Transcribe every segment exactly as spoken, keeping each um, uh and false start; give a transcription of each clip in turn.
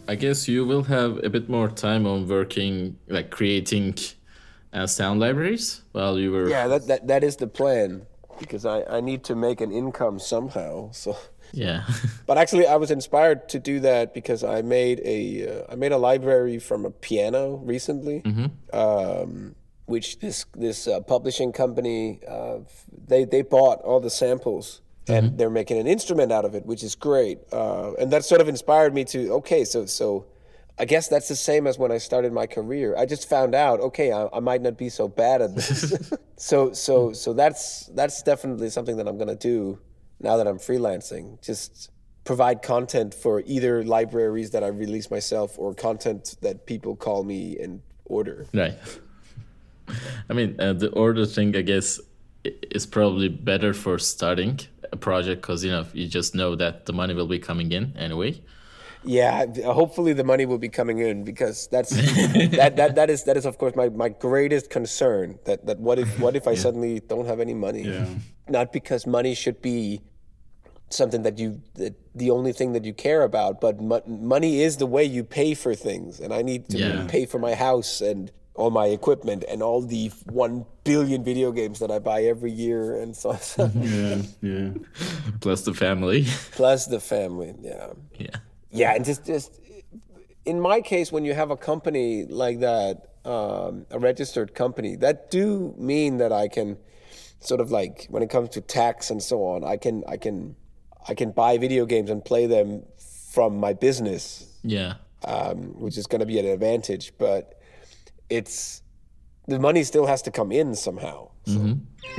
I guess you will have a bit more time on working, like creating uh, sound libraries while you were. Yeah, that, that, that is the plan, because I, I need to make an income somehow. So, Yeah. but actually, I was inspired to do that because I made a uh, I made a library from a piano recently, um, which this this uh, publishing company uh, they they bought all the samples and they're making an instrument out of it, which is great. Uh, and that sort of inspired me to okay, so so. I guess that's the same as when I started my career. I just found out, okay, I, I might not be so bad at this. so, so, so that's that's definitely something that I'm gonna do now that I'm freelancing. Just provide content for either libraries that I release myself or content that people call me and order. Right. I mean, uh, the order thing, I guess, i- is probably better for starting a project because you know you just know that the money will be coming in anyway. Yeah, hopefully the money will be coming in, because that's that, that that is that is of course my, my greatest concern. That that what if what if I suddenly don't have any money? Yeah. Not because money should be something that you that the only thing that you care about, but mo- money is the way you pay for things, and I need to Yeah. pay for my house and all my equipment and all the one billion video games that I buy every year, and so Yeah, yeah. Plus the family. plus the family. Yeah. Yeah. Yeah, and just just in my case, when you have a company like that, um, a registered company, that do mean that I can sort of like when it comes to tax and so on, I can I can I can buy video games and play them from my business, Yeah. um, which is going to be an advantage. But it's the money still has to come in somehow. So.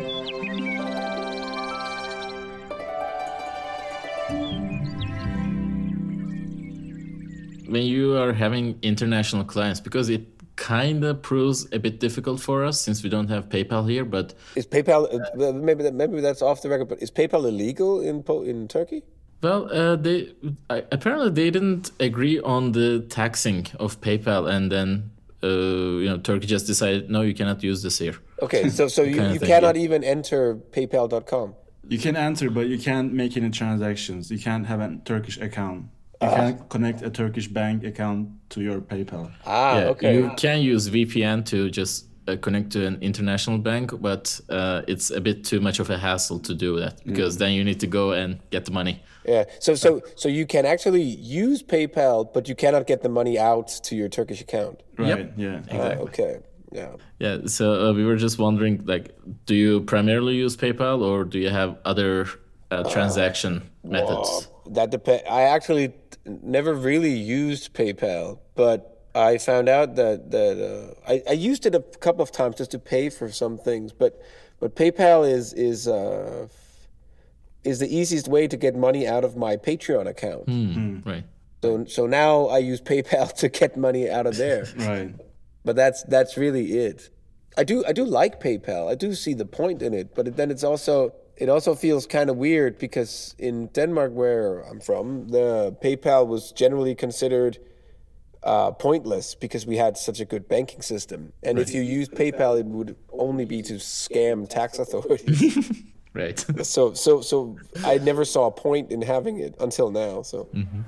When you are having international clients, because it kind of proves a bit difficult for us since we don't have PayPal here, but Is PayPal uh, well, maybe that, maybe that's off the record? But is PayPal illegal in Po- in Turkey? well, uh, they I, apparently they didn't agree on the taxing of PayPal, and then uh, you know Turkey just decided no, you cannot use this here. Okay, so so you, Kind of you thing, cannot yeah. even enter PayPal dot com. You can enter, but you can't make any transactions. You can't have a Turkish account. You can't connect a Turkish bank account to your PayPal. Ah, Yeah, okay. you can use V P N to just uh, connect to an international bank, but uh, it's a bit too much of a hassle to do that because then you need to go and get the money. Yeah. So so so you can actually use PayPal, but you cannot get the money out to your Turkish account. Right, yeah. Ah, okay. Yeah. Yeah, so uh, we were just wondering, like, do you primarily use PayPal or do you have other uh, transaction methods? That depend. I actually t- never really used PayPal, but I found out that that uh, I, I used it a couple of times just to pay for some things. But but PayPal is is uh, is the easiest way to get money out of my Patreon account. Right. So so now I use PayPal to get money out of there. Right. But that's that's really it. I do I do like PayPal. I do see the point in it, but then it's also it also feels kind of weird because in Denmark, where I'm from, the PayPal was generally considered uh, pointless because we had such a good banking system. And if you used PayPal, it would only be to scam tax authorities. Right. so so so I never saw a point in having it until now. So.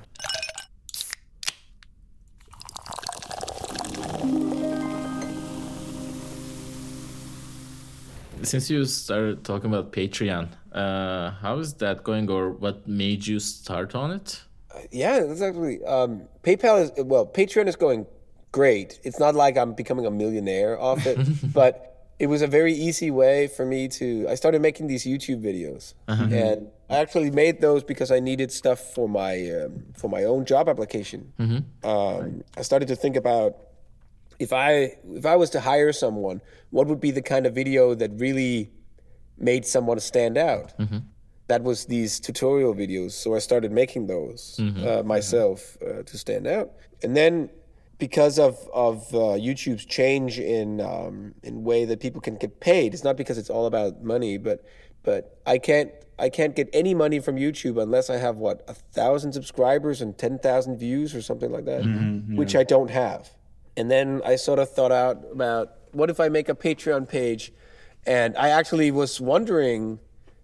Since you started talking about Patreon, uh, how is that going, or what made you start on it? Yeah, that's actually um, PayPal is well. Patreon is going great. It's not like I'm becoming a millionaire off it, but it was a very easy way for me to. I started making these YouTube videos, and I actually made those because I needed stuff for my um, for my own job application. Um, I started to think about if I if I was to hire someone, what would be the kind of video that really made someone stand out? That was these tutorial videos. So I started making those uh, myself uh, to stand out. And then because of of uh, YouTube's change in um, in way that people can get paid, it's not because it's all about money, but but I can't I can't get any money from YouTube unless I have what a thousand subscribers and ten thousand views or something like that, which I don't have. And then I sort of thought out about what if I make a Patreon page, and I actually was wondering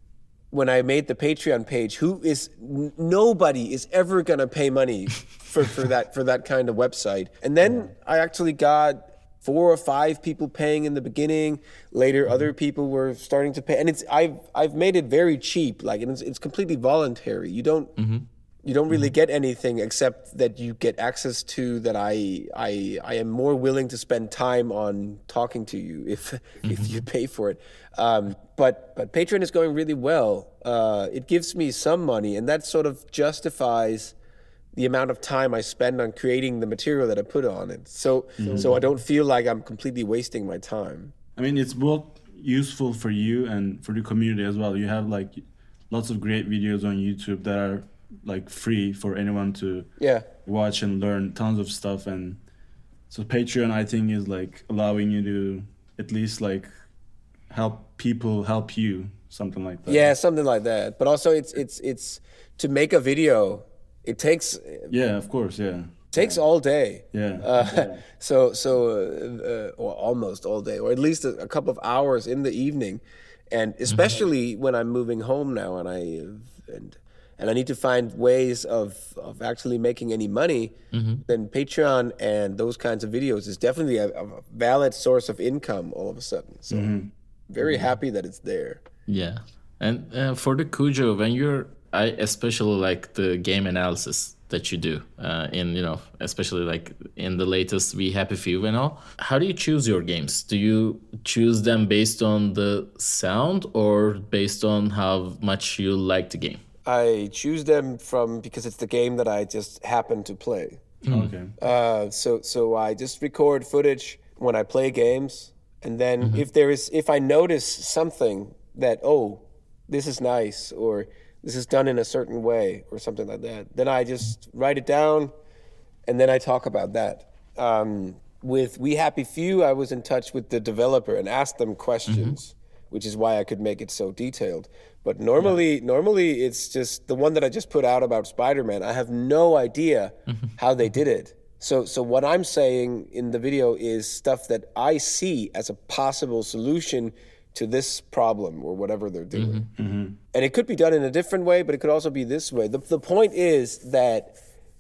when I made the Patreon page, who is n- nobody is ever gonna pay money for, for that for that kind of website. And then I actually got four or five people paying in the beginning. Later, mm-hmm. other people were starting to pay, and it's I've I've made it very cheap. Like it's it's completely voluntary. You don't. Mm-hmm. You don't really get anything except that you get access to that I I I am more willing to spend time on talking to you if mm-hmm. if you pay for it. Um, but but Patreon is going really well. Uh, it gives me some money, and that sort of justifies the amount of time I spend on creating the material that I put on it. So mm-hmm. so I don't feel like I'm completely wasting my time. I mean, it's both useful for you and for the community as well. You have like lots of great videos on YouTube that are like free for anyone to yeah. watch and learn tons of stuff. And so Patreon, I think, is like allowing you to at least like help people help you, something like that. Yeah, something like that. But also it's it's it's to make a video, it takes yeah of course yeah it takes yeah. all day. Yeah. Uh, yeah. So so uh, or almost all day, or at least a, a couple of hours in the evening, and especially mm-hmm. when I'm moving home now, and I and and I need to find ways of of actually making any money. Mm-hmm. Then Patreon and those kinds of videos is definitely a, a valid source of income all of a sudden. So mm-hmm. very mm-hmm. happy that it's there. Yeah, and uh, for the Cujo, when you're, I especially like the game analysis that you do uh, in, you know, especially like in the latest We Happy Few and all. How do you choose your games? Do you choose them based on the sound or based on how much you like the game? I choose them from because it's the game that I just happen to play. Mm. Okay. Uh, so so I just record footage when I play games, and then mm-hmm. if there is if I notice something that, oh, this is nice, or this is done in a certain way or something like that, then I just write it down and then I talk about that. Um, with We Happy Few, I was in touch with the developer and asked them questions, mm-hmm. which is why I could make it so detailed. But normally, yeah. normally it's just the one that I just put out about Spider-Man. I have no idea mm-hmm. how they did it. So, so what I'm saying in the video is stuff that I see as a possible solution to this problem or whatever they're doing. Mm-hmm. Mm-hmm. And it could be done in a different way, but it could also be this way. The, the point is that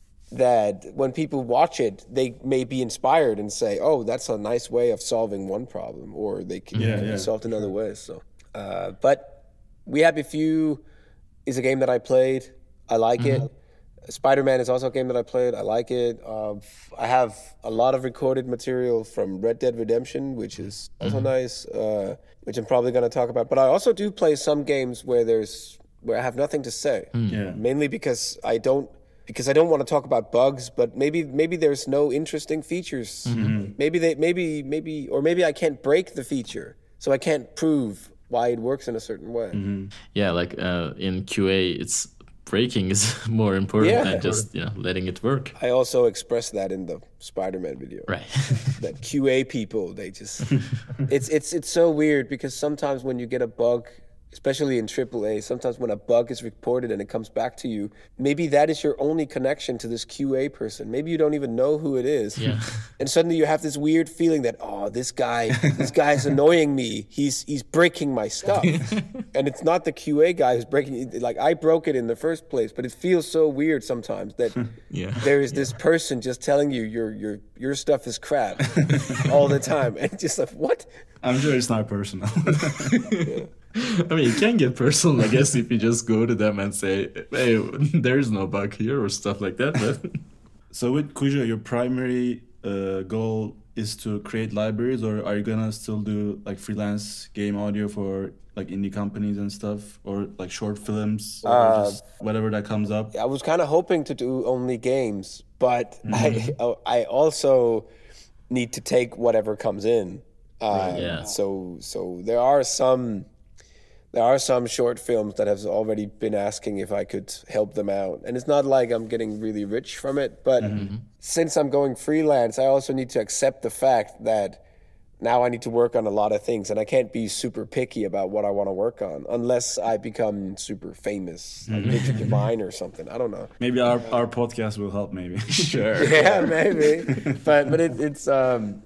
that when people watch it, they may be inspired and say, oh, that's a nice way of solving one problem, or they can, yeah, can yeah. be solved in other ways. So, uh, but We Happy Few is a game that I played. I like mm-hmm. it. Spider-Man is also a game that I played. I like it. Uh, I have a lot of recorded material from Red Dead Redemption, which is also mm-hmm. nice, uh, which I'm probably going to talk about. But I also do play some games where there's where I have nothing to say, mm. yeah. mainly because I don't because I don't want to talk about bugs. But maybe maybe there's no interesting features. Mm-hmm. Maybe they maybe maybe or maybe I can't break the feature, so I can't prove why it works in a certain way. Mm-hmm. Yeah, like uh, in Q A, it's. Breaking is more important yeah. than just, you know, letting it work. I also expressed that in the Spider-Man video. Right. That Q A people, they just it's it's it's so weird because sometimes when you get a bug, especially in triple A, sometimes when a bug is reported and it comes back to you, maybe that is your only connection to this Q A person. Maybe you don't even know who it is. Yeah. And suddenly you have this weird feeling that, oh, this guy, this guy's annoying me. He's he's breaking my stuff. And it's not the Q A guy who's breaking it. Like, I broke it in the first place, but it feels so weird sometimes that yeah. there is this yeah. person just telling you your your your stuff is crap all the time. And just like, what? I'm sure it's not personal. yeah. I mean, it can get personal, I guess, if you just go to them and say, hey, there's no bug here or stuff like that. But so with Cujo, your primary uh, goal is to create libraries, or are you gonna still do like freelance game audio for like indie companies and stuff, or like short films, or uh, just whatever that comes up? I was kind of hoping to do only games, but mm-hmm. I I also need to take whatever comes in. Uh, yeah. So so there are some. There are some short films that have already been asking if I could help them out. And it's not like I'm getting really rich from it, but mm-hmm. since I'm going freelance, I also need to accept the fact that now I need to work on a lot of things, and I can't be super picky about what I want to work on unless I become super famous, like Mm-hmm. Richard Devine or something. I don't know. Maybe our, our podcast will help, maybe. Sure. Yeah, maybe. But but it, it's... um.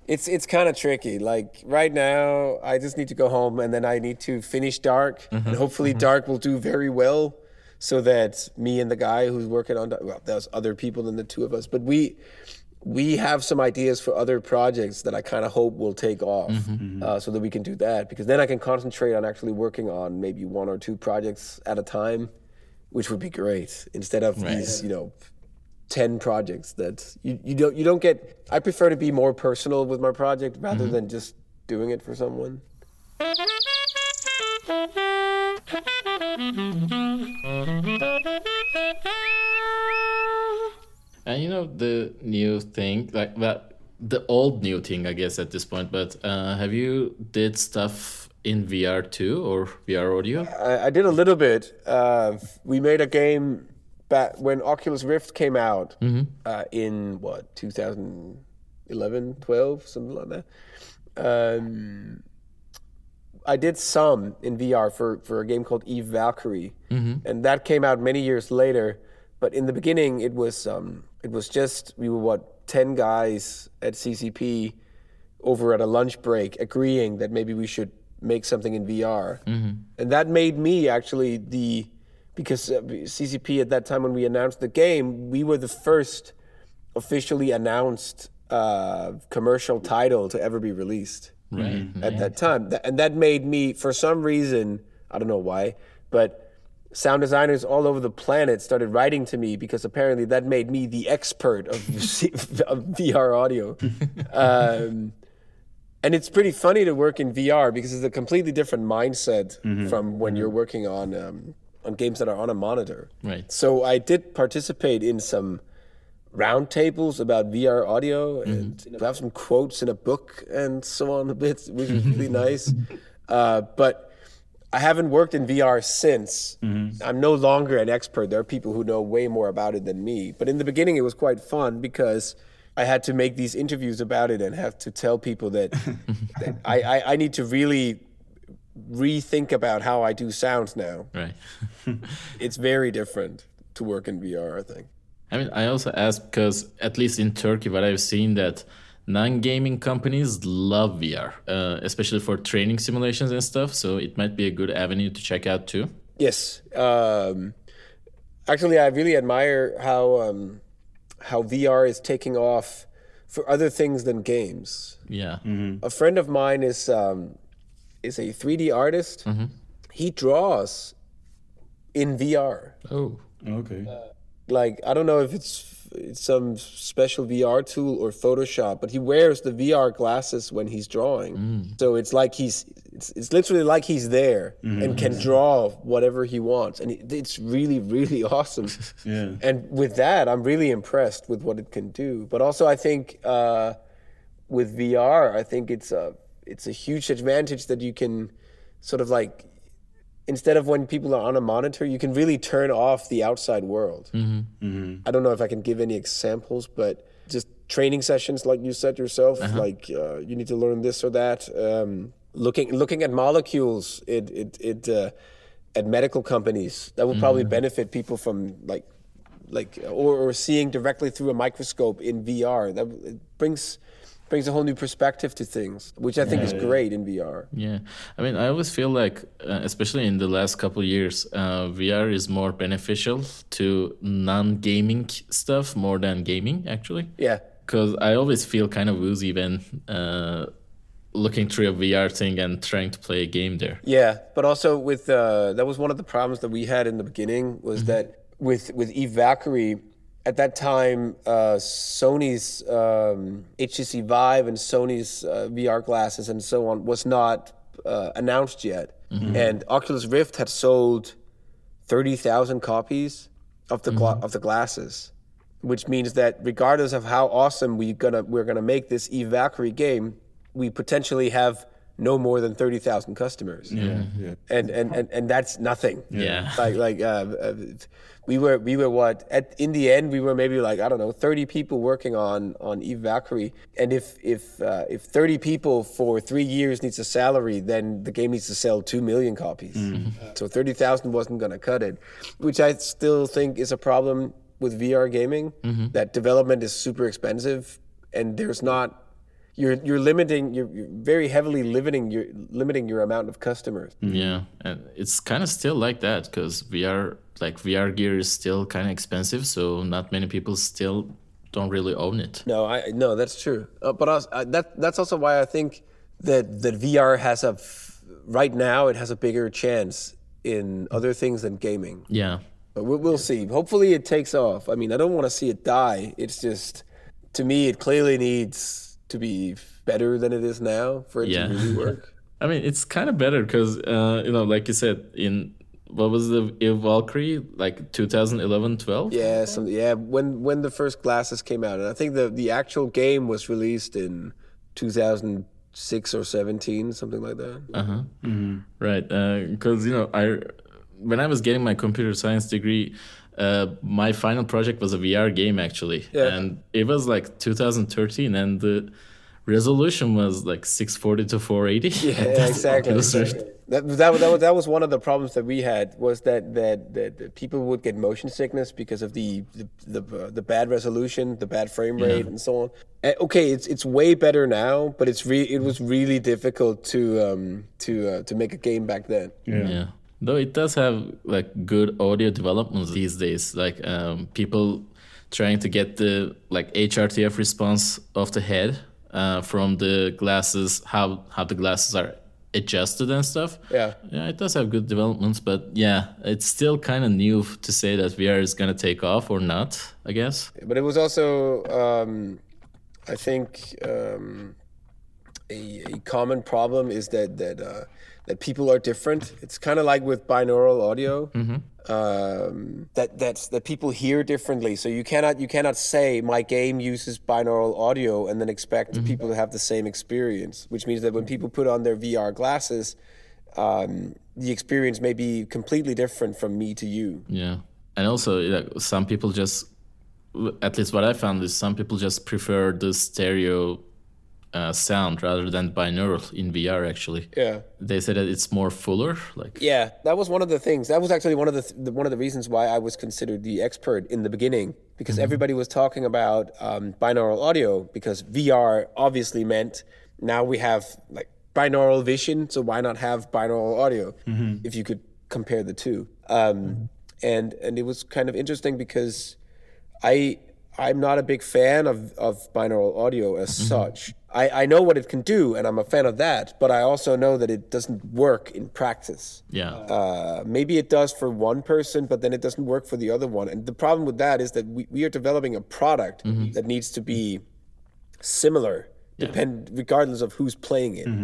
It's it's kind of tricky. Like right now, I just need to go home and then I need to finish Dark, mm-hmm. and hopefully mm-hmm. Dark will do very well, so that me and the guy who's working on well, there's other people than the two of us, but we we have some ideas for other projects that I kind of hope will take off, mm-hmm. uh, so that we can do that, because then I can concentrate on actually working on maybe one or two projects at a time, which would be great instead of right. these, you know, ten projects that you, you don't you don't get. I prefer to be more personal with my project rather mm-hmm. than just doing it for someone. And you know the new thing, like that, the old new thing, I guess at this point. But uh, have you did stuff in V R too, or V R audio? I, I did a little bit. Uh, we made a game back when Oculus Rift came out, mm-hmm. uh, in what two thousand eleven, twelve, something like that. Um, I did some in V R for, for a game called Eve Valkyrie, mm-hmm. and that came out many years later. But in the beginning, it was um, it was just we were what ten guys at C C P over at a lunch break agreeing that maybe we should make something in V R, mm-hmm. and that made me actually the because uh, C C P at that time when we announced the game, we were the first officially announced uh, commercial title to ever be released. Right. At that time, and that made me, for some reason, I don't know why, but sound designers all over the planet started writing to me because apparently that made me the expert of, of V R audio. um, and it's pretty funny to work in V R because it's a completely different mindset mm-hmm. from when mm-hmm. you're working on um, on games that are on a monitor. Right. So I did participate in some roundtables about V R audio, and mm-hmm. you know, have some quotes in a book and so on a bit, which was really nice. Uh, but I haven't worked in V R since. Mm-hmm. I'm no longer an expert. There are people who know way more about it than me. But in the beginning, it was quite fun because I had to make these interviews about it and have to tell people that, that I, I, I need to really rethink about how I do sounds now. Right. It's very different to work in V R, I think. I mean, I also asked because, at least in Turkey, what I've seen that non-gaming companies love V R, uh, especially for training simulations and stuff. So it might be a good avenue to check out too. Yes. Um, actually, I really admire how um, how V R is taking off for other things than games. Yeah. Mm-hmm. A friend of mine is um, is a three D artist. Mm-hmm. He draws in V R. Oh, okay. Uh, Like, I don't know if it's, it's some special V R tool or Photoshop, but he wears the V R glasses when he's drawing. Mm. So it's like he's, it's, it's literally like he's there mm-hmm. and can draw whatever he wants. And it, it's really, really awesome. Yeah. And with that, I'm really impressed with what it can do. But also I think uh, with V R, I think it's a, it's a huge advantage that you can sort of like, instead of when people are on a monitor, you can really turn off the outside world. Mm-hmm. Mm-hmm. I don't know if I can give any examples, but just training sessions, like you said yourself, uh-huh. like uh, you need to learn this or that. Um, looking looking at molecules, it it, it uh, at medical companies, that would probably mm-hmm. benefit people from like like or, or seeing directly through a microscope in V R. That it brings. brings a whole new perspective to things, which I think yeah, is great yeah. in V R. Yeah. I mean, I always feel like, uh, especially in the last couple of years, uh, V R is more beneficial to non-gaming stuff more than gaming, actually. Yeah. Because I always feel kind of woozy when uh, looking through a V R thing and trying to play a game there. Yeah, but also with, uh, that was one of the problems that we had in the beginning, was mm-hmm. that with, with Eve Valkyrie, at that time, uh, Sony's um, H T C Vive and Sony's uh, V R glasses and so on was not uh, announced yet. Mm-hmm. And Oculus Rift had sold thirty thousand copies of the gla- mm-hmm. of the glasses, which means that regardless of how awesome we gonna we're gonna make this Eve Valkyrie game, we potentially have no more than thirty thousand customers. Yeah, yeah. And, and and and that's nothing. Yeah. Like like uh, uh, we were we were what at in the end we were maybe like I don't know thirty people working on on Eve Valkyrie, and if if uh, if thirty people for three years needs a salary, then the game needs to sell two million copies. Mm-hmm. So thirty thousand wasn't gonna cut it, which I still think is a problem with V R gaming. Mm-hmm. That development is super expensive, and there's not. you're you're limiting you're, you're very heavily limiting your limiting your amount of customers. Yeah, and it's kind of still like that because V R like V R gear is still kind of expensive, so not many people still don't really own it. No, I no, that's true. Uh, but also, uh, that that's also why I think that that V R has a f- right now it has a bigger chance in other things than gaming. Yeah. But we'll, we'll see. Hopefully, it takes off. I mean, I don't want to see it die. It's just, to me, it clearly needs to be better than it is now for it Yeah. to really work. I mean, it's kind of better because, uh, you know, like you said, in what was the Eve Valkyrie, like twenty eleven, twelve? Yeah, some, yeah. When when the first glasses came out, and I think the the actual game was released in two thousand six or seventeen, something like that. Uh huh. Right. Because, you know, I when I was getting my computer science degree, uh, my final project was a V R game actually, Yeah. and it was like two thousand thirteen, and the resolution was like six forty to four eighty. Yeah, exactly. It was exactly. That, that, that, was, that was one of the problems that we had was that, that, that, that people would get motion sickness because of the the, the, uh, the bad resolution, the bad frame rate, and so on. Uh, okay, it's it's way better now, but it's re- it was really difficult to um, to uh, to make a game back then. Yeah. Yeah. Though it does have like good audio developments these days, like um, people trying to get the like H R T F response of the head uh, from the glasses, how how the glasses are adjusted and stuff. Yeah. Yeah, it does have good developments, but yeah, it's still kind of new to say that V R is gonna take off or not, I guess. But it was also, um, I think, um, a, a common problem is that that uh, that people are different. It's kind of like with binaural audio. Um, that that's that people hear differently. So you cannot you cannot say my game uses binaural audio and then expect people to have the same experience. Which means that when people put on their V R glasses, um, the experience may be completely different from me to you. Yeah, and also like, some people just, at least what I found is some people just prefer the stereo uh, sound rather than binaural in V R. Actually, Yeah. they say that it's more fuller. Like, Yeah, that was one of the things. That was actually one of the, th- the one of the reasons why I was considered the expert in the beginning, because everybody was talking about um, binaural audio, because V R obviously meant now we have like binaural vision, so why not have binaural audio if you could compare the two? Um, and and it was kind of interesting because I I'm not a big fan of, of binaural audio as such. I, I know what it can do, and I'm a fan of that, but I also know that it doesn't work in practice. yeah, Uh, maybe it does for one person, but then it doesn't work for the other one. And the problem with that is that we, we are developing a product that needs to be similar, depend regardless of who's playing it.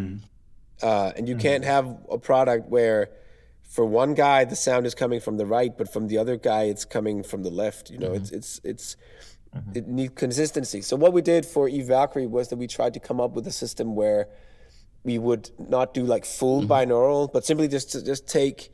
Uh, and you can't have a product where for one guy the sound is coming from the right, but from the other guy it's coming from the left. You know, it's it's it's it needs consistency. So what we did for Eve Valkyrie was that we tried to come up with a system where we would not do like full binaural, but simply just to just take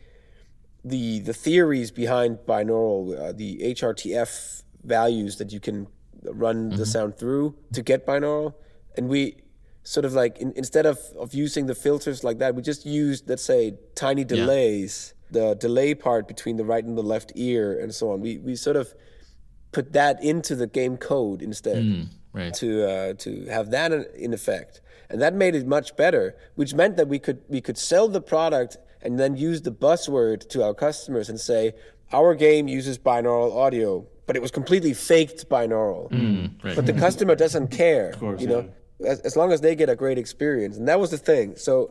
the the theories behind binaural, uh, the H R T F values that you can run the sound through to get binaural, and we sort of like in, instead of, of using the filters like that, we just used, let's say, tiny delays, the delay part between the right and the left ear and so on. We we sort of put that into the game code instead right. to uh, to have that in- in effect, and that made it much better. Which meant that we could we could sell the product and then use the buzzword to our customers and say our game uses binaural audio, but it was completely faked binaural. right. But the customer doesn't care, course, you know, as, as long as they get a great experience. And that was the thing. So,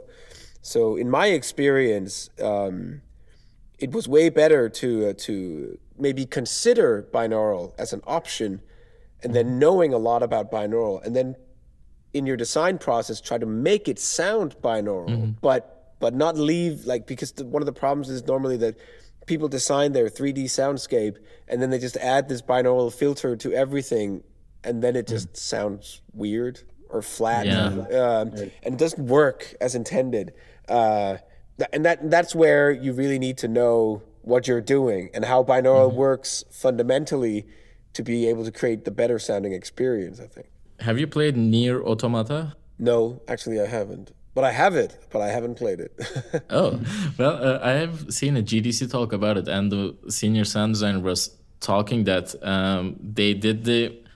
so in my experience, um, it was way better to uh, to maybe consider binaural as an option, and then knowing a lot about binaural, and then in your design process try to make it sound binaural, but but not leave like because the, one of the problems is normally that people design their three D soundscape and then they just add this binaural filter to everything, and then it just sounds weird or flat, Yeah. um, and it doesn't work as intended. Uh, th- and that that's where you really need to know what you're doing and how binaural works fundamentally to be able to create the better sounding experience, I think. Have you played Nier Automata? No, actually I haven't. But I have it, but I haven't played it. Oh, well, uh, I have seen a G D C talk about it, and the senior sound designer was talking that um, they did the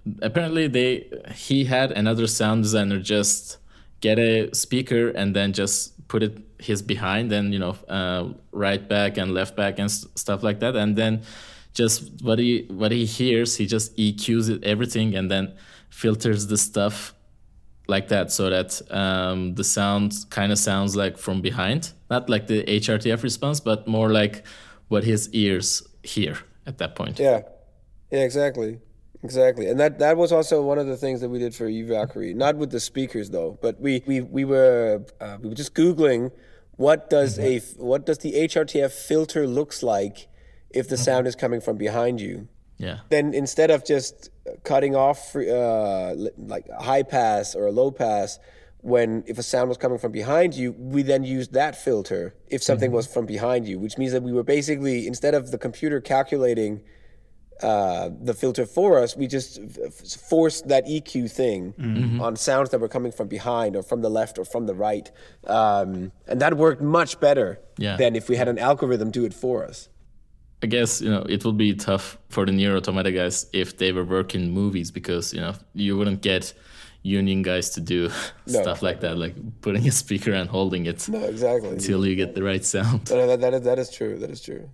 apparently they he had another sound designer just get a speaker and then just put it his behind and, you know, uh, right back and left back and s- stuff like that. And then just what he what he hears, he just E Qs it, everything, and then filters the stuff like that, so that um, the sound kind of sounds like from behind, not like the H R T F response, but more like what his ears hear at that point. Yeah, yeah, exactly, exactly. And that that was also one of the things that we did for eValkyrie. Not with the speakers though, but we we we were uh, we were just googling what does a what does the H R T F filter looks like if the sound is coming from behind you. Yeah. Then instead of just cutting off uh, like a high pass or a low pass, when if a sound was coming from behind you, we then used that filter if something was from behind you, which means that we were basically, instead of the computer calculating uh, the filter for us, we just f- forced that E Q thing on sounds that were coming from behind or from the left or from the right. Um, and that worked much better Yeah. than if we had an algorithm do it for us. I guess, you know, it would be tough for the Nier Automata guys if they were working movies, because, you know, you wouldn't get union guys to do No. stuff like that, like putting a speaker and holding it No, exactly. until you get the right sound. No, no, that, that, is, that is true. That is true.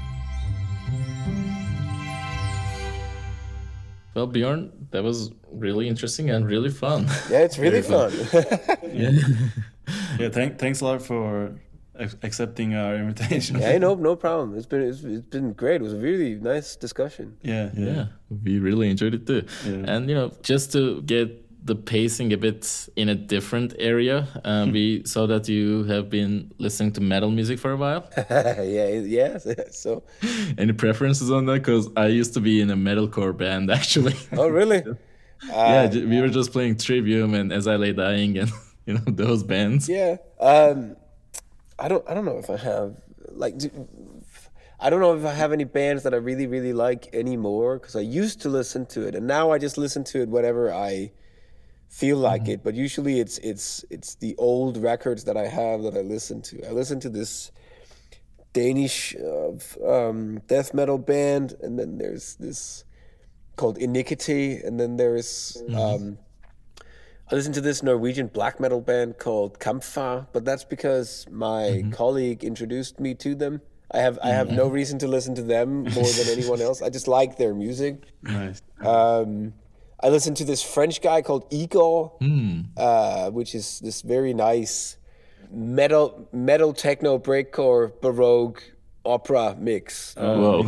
Well, Bjorn, that was really interesting and really fun. Yeah, it's really fun. Yeah. Yeah, thank, thanks a lot for ac- accepting our invitation. Yeah, no, no problem. It's been it's, it's been great. It was a really nice discussion. Yeah, yeah. Yeah, we really enjoyed it too. Yeah. And, you know, just to get the pacing a bit in a different area, uh, we saw that you have been listening to metal music for a while. yeah, yeah. So, Any preferences on that? Because I used to be in a metalcore band, actually. oh really? yeah, j- we were just playing Trivium and As I Lay Dying and, you know, those bands. Yeah. Um, I don't. I don't know if I have like. do- I don't know if I have any bands that I really, really like anymore, because I used to listen to it, and now I just listen to it whenever I feel like it. But usually, it's it's it's the old records that I have that I listen to. I listen to this Danish uh, um, death metal band, and then there's this called Iniquity, and then there's um, I listen to this Norwegian black metal band called Kampfar, but that's because my colleague introduced me to them. I have I have no reason to listen to them more than anyone else. I just like their music. Nice. Um, I listen to this French guy called Igor, uh, which is this very nice metal metal techno breakcore baroque opera mix. Whoa.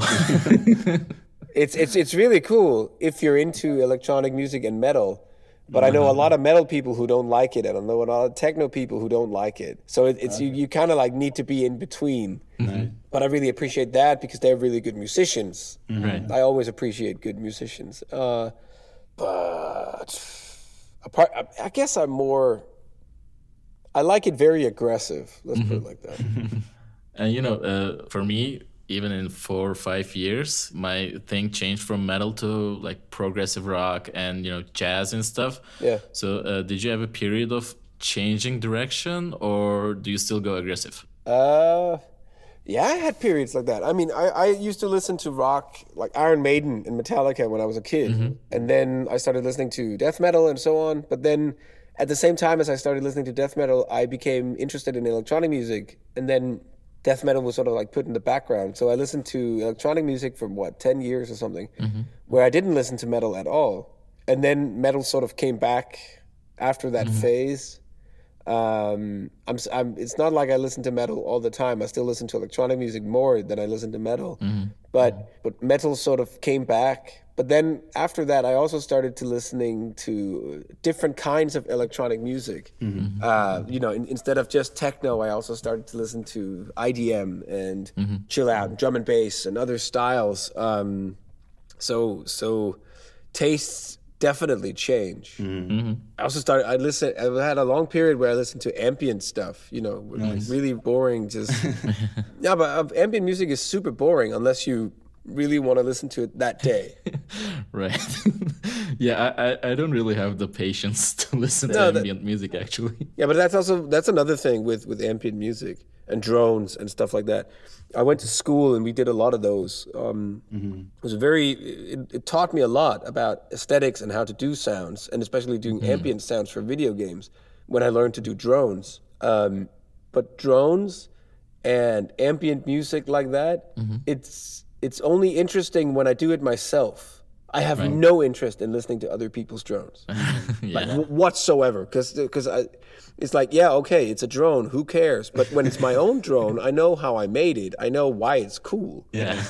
It's it's it's really cool if you're into electronic music and metal. But I know a lot of metal people who don't like it, and I know a lot of techno people who don't like it. So it, it's you, you kind of like need to be in between. Nice. But I really appreciate that because they're really good musicians. Right. I always appreciate good musicians. Uh, but apart, I, I guess I'm more. I like it very aggressive. Let's put it like that. And, you know, uh, for me, even in four or five years, my thing changed from metal to like progressive rock and, you know, jazz and stuff. Yeah. So uh, did you have a period of changing direction, or do you still go aggressive? Uh, yeah, I had periods like that. I mean, I, I used to listen to rock like Iron Maiden and Metallica when I was a kid. And then I started listening to death metal and so on. But then at the same time as I started listening to death metal, I became interested in electronic music. And then death metal was sort of like put in the background. So I listened to electronic music for what, ten years or something, where I didn't listen to metal at all. And then metal sort of came back after that phase. Um, I'm, s- I'm, it's not like I listen to metal all the time. I still listen to electronic music more than I listen to metal. But but metal sort of came back. But then after that, I also started to listening to different kinds of electronic music. Uh, you know, in, instead of just techno, I also started to listen to I D M and chill out, and drum and bass, and other styles. Um, so so tastes definitely change. I also started. I listen. I had a long period where I listened to ambient stuff. You know, like really boring. Just yeah, but uh, ambient music is super boring unless you really want to listen to it that day. Right. yeah, I, I, I don't really have the patience to listen No, to that- ambient music, actually. Yeah, but that's also that's another thing with with ambient music. and drones and stuff like that. I went to school and we did a lot of those. Um, mm-hmm. It was very, it, it taught me a lot about aesthetics and how to do sounds, and especially doing mm. ambient sounds for video games when I learned to do drones. Um, but drones and ambient music like that, mm-hmm. it's it's only interesting when I do it myself. I have right. no interest in listening to other people's drones, yeah. like w- whatsoever. Because because it's like, yeah, okay, it's a drone. Who cares? But when it's my own drone, I know how I made it. I know why it's cool. Yeah.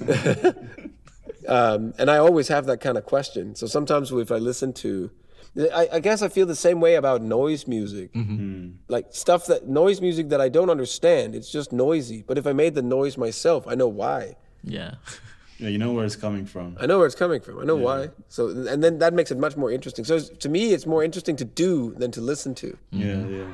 um, and I always have that kind of question. So sometimes if I listen to, I, I guess I feel the same way about noise music. Mm-hmm. Like stuff that noise music that I don't understand. It's just noisy. But if I made the noise myself, I know why. Yeah. Yeah, you know where it's coming from. I know where it's coming from. I know yeah. why. So, and then that makes it much more interesting. So, to me, it's more interesting to do than to listen to. Yeah, mm-hmm. yeah.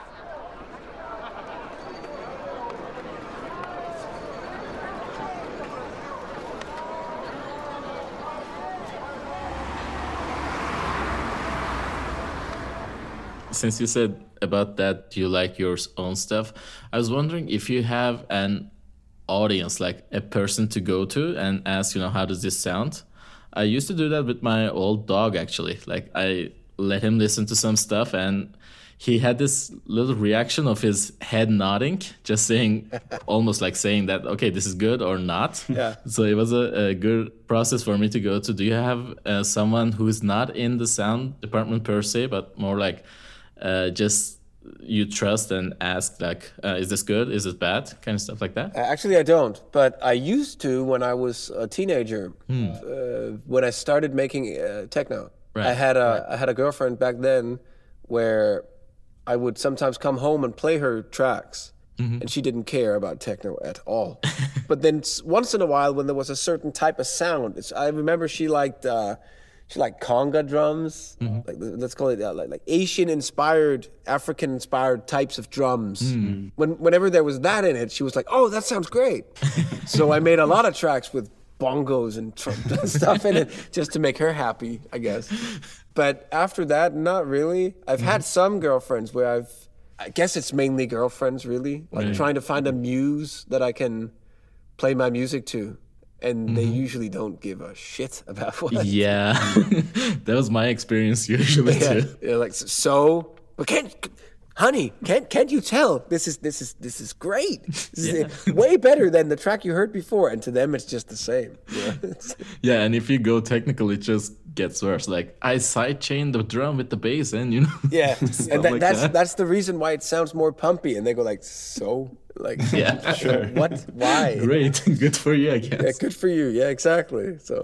Since you said about that, you like your own stuff, I was wondering if you have an audience, like a person to go to and ask, you know, how does this sound? I used to do that with my old dog, actually. Like, I let him listen to some stuff and he had this little reaction of his head nodding, just saying, almost like saying that, okay, this is good or not. Yeah. So it was a, a good process for me to go to. Do you have uh, someone who is not in the sound department per se, but more like uh, just you trust and ask, like, uh, is this good? Is it bad? Kind of stuff like that? Actually, I don't. But I used to when I was a teenager, hmm. uh, when I started making uh, techno. Right. I had a right. I had a girlfriend back then where I would sometimes come home and play her tracks. Mm-hmm. And she didn't care about techno at all. But then once in a while, when there was a certain type of sound, it's, I remember she liked... Uh, She liked conga drums, mm-hmm. like let's call it uh, like, like Asian-inspired, African-inspired types of drums. Mm. When whenever there was that in it, she was like, "Oh, that sounds great." So I made a lot of tracks with bongos and tr- stuff in it just to make her happy, I guess. But after that, not really. I've mm-hmm. had some girlfriends where I've, I guess it's mainly girlfriends, really, like right. trying to find a muse that I can play my music to. And mm-hmm. they usually don't give a shit about what. Yeah, that was my experience usually yeah. too. Yeah, like so, but can't, honey, can't can't you tell this is this is this is great? This yeah. is way better than the track you heard before, and to them it's just the same. Yeah, yeah, and if you go technical, it just gets worse. Like I sidechain the drum with the bass, and you know. Yeah, and that, like that's that. that's the reason why it sounds more pumpy, and they go like so. Like, yeah, sure. What? Why? Great. Good for you, I guess. Yeah, good for you. Yeah, exactly. So,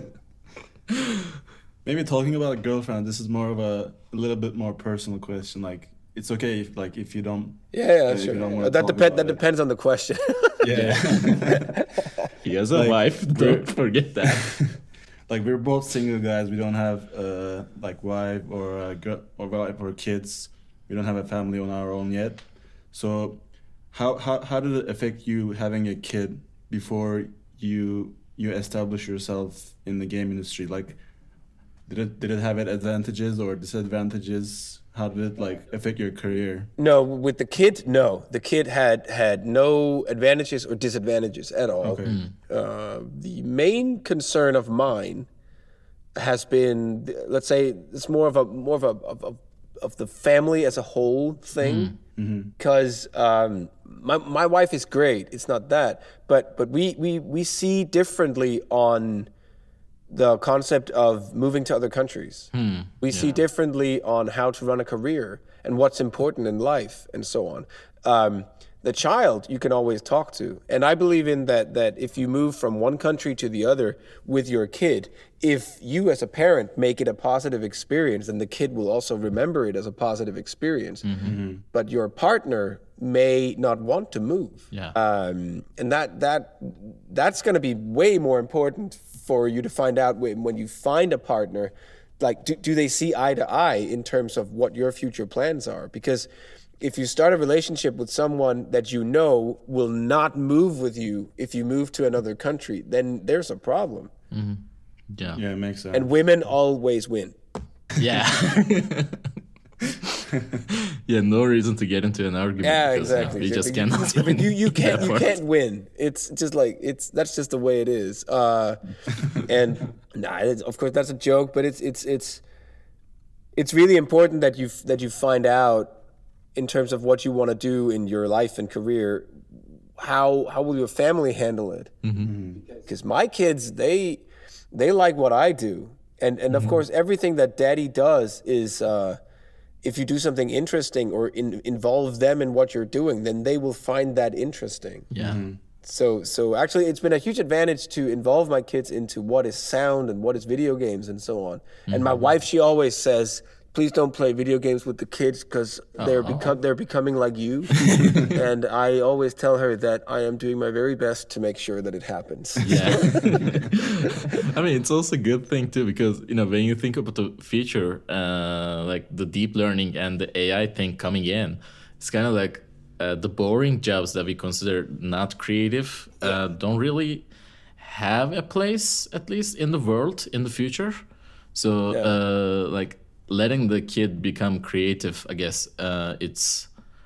maybe talking about a girlfriend, this is more of a, a little bit more personal question. Like, it's okay if, like, if you don't. Yeah, yeah, sure. Yeah. That depends. That it. depends on the question. Yeah. He has a like, wife. Don't forget that. Like, we're both single guys. We don't have uh like wife or a girl or wife or kids. We don't have a family on our own yet. So. How, how how did it affect you having a kid before you you establish yourself in the game industry? Like, did it did it have advantages or disadvantages? How did it like affect your career? No, with the kid, no. The kid had had no advantages or disadvantages at all. Okay. Mm. Uh, the main concern of mine has been, let's say, it's more of a more of a of, of, of the family as a whole thing. Because mm. mm-hmm. um, my my wife is great. It's not that, but but we we we see differently on the concept of moving to other countries. Hmm. We yeah. see differently on how to run a career and what's important in life and so on. Um, the child you can always talk to, and I believe in that. That if you move from one country to the other with your kid, if you as a parent make it a positive experience, then the kid will also remember it as a positive experience. Mm-hmm. But your partner may not want to move, yeah. um, and that that that's going to be way more important for you to find out when, when you find a partner. Like, do, do they see eye to eye in terms of what your future plans are? Because if you start a relationship with someone that you know will not move with you if you move to another country, then there's a problem. Mm-hmm. Yeah. Yeah, it makes sense. And women always win. Yeah. Yeah, no reason to get into an argument. Yeah, because, you know, exactly. we just You- cannot. you, but you, you win can't that you part. can't win. It's just like it's that's just the way it is. Uh, and nah, it's, of course that's a joke, but it's it's it's it's really important that you that you find out in terms of what you want to do in your life and career. How how will your family handle it? Because my kids they they like what I do, and and of course everything that Daddy does is. Uh, If you do something interesting or in, involve them in what you're doing, then they will find that interesting. Yeah. So, so actually, it's been a huge advantage to involve my kids into what is sound and what is video games and so on. And my wife, she always says, "Please don't play video games with the kids because they're become they're becoming like you." And I always tell her that I am doing my very best to make sure that it happens. Yeah. I mean, it's also a good thing too, because, you know, when you think about the future, uh, like the deep learning and the A I thing coming in, it's kind of like uh, the boring jobs that we consider not creative uh, don't really have a place, at least in the world in the future. So, Yeah. uh, like letting the kid become creative, I guess uh, it's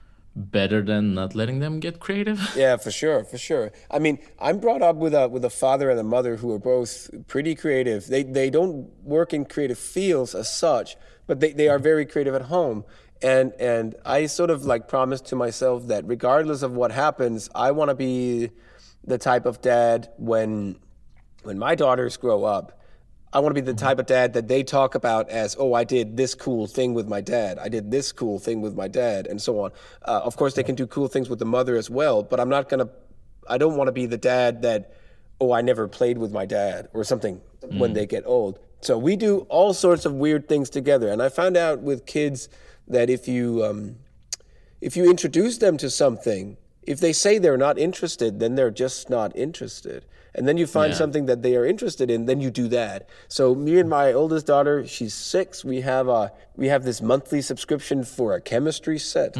better than not letting them get creative. Yeah, for sure, for sure. I mean, I'm brought up with a with a father and a mother who are both pretty creative. They they don't work in creative fields as such, but they, they are very creative at home. And and I sort of like promised to myself that regardless of what happens, I want to be the type of dad when when my daughters grow up. I want to be the type of dad that they talk about as, oh, I did this cool thing with my dad. I did this cool thing with my dad, and so on. Uh, of course, they can do cool things with the mother as well, but I'm not going to, I don't want to be the dad that, oh, I never played with my dad or something when they get old. So we do all sorts of weird things together. And I found out with kids that if you, um, if you introduce them to something, if they say they're not interested, then they're just not interested. And then you find Yeah. something that they are interested in, then you do that. So me and my oldest daughter, she's six. We have a we have this monthly subscription for a chemistry set.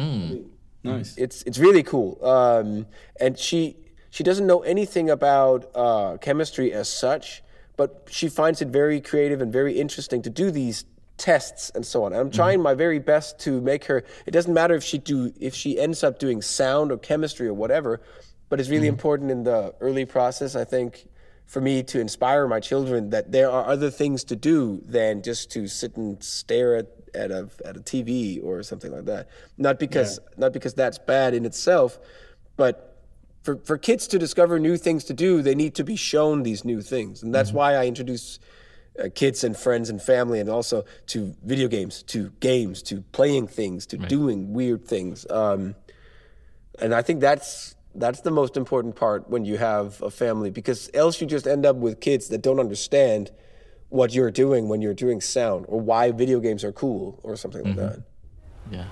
Nice. It's it's really cool. Um, and she she doesn't know anything about uh, chemistry as such, but she finds it very creative and very interesting to do these tests and so on. And I'm trying my very best to make her. It doesn't matter if she do if she ends up doing sound or chemistry or whatever, but it's really important in the early process, I think, for me to inspire my children that there are other things to do than just to sit and stare at, at a at a T V or something like that. Not because not because that's bad in itself, but for for kids to discover new things to do, they need to be shown these new things, and that's why I introduce uh, kids and friends and family, and also to video games, to games, to playing things, to doing weird things. Um, and I think that's. That's the most important part when you have a family, because else you just end up with kids that don't understand what you're doing when you're doing sound, or why video games are cool or something like that. Yeah.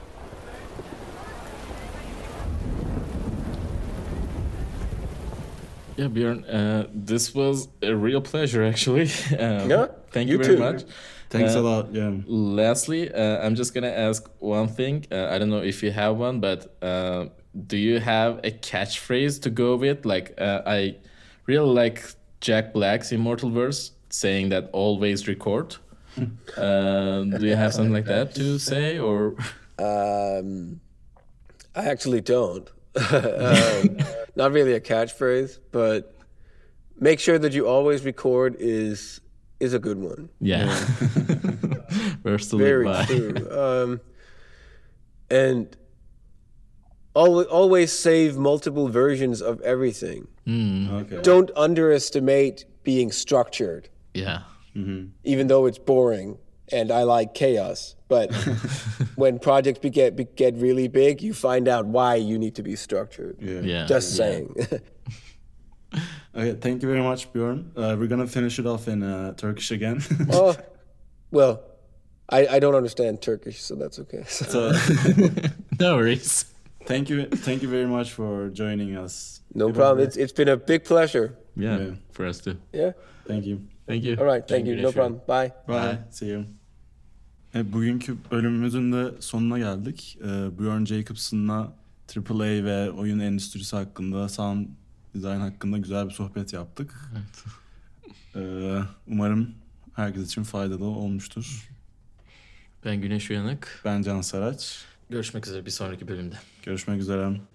Yeah, Björn, uh, this was a real pleasure, actually. Um, Yeah, thank you, you very too. much. Thanks Uh, a lot. Yeah. Lastly, uh, I'm just gonna ask one thing. Uh, I don't know if you have one, but uh, do you have a catchphrase to go with? Like, uh, I really like Jack Black's Immortal Verse saying that always record. Uh, do you have something like that to say, or? Um, I actually don't. um, not really a catchphrase, but make sure that you always record is is a good one. Yeah. Verse to Very live by. true. Um, and always, always save multiple versions of everything. Okay. Don't underestimate being structured, Yeah. even though it's boring and I like chaos. But when projects be- get be- get really big, you find out why you need to be structured. Yeah. Yeah. Just yeah. saying. Okay. Thank you very much, Björn. Uh, we're gonna finish it off in uh, Turkish again. Oh, well, I, I don't understand Turkish, so that's okay. So, No worries. thank you. Thank you very much for joining us. No problem. It's it's been a big pleasure. Yeah, Yeah. for us too. Yeah. Thank you. Thank you. All right. Thank you. No problem. Bye. Bye. Bye. See you. Evet, bugünkü bölümümüzün de sonuna geldik. Ee, Björn Jacobson'la Triple A ve oyun endüstrisi hakkında, sound design hakkında güzel bir sohbet yaptık. Ee, umarım herkes için faydalı olmuştur. Ben Güneş Uyanık. Ben Can Saraç. Görüşmek üzere bir sonraki bölümde. Görüşmek üzere.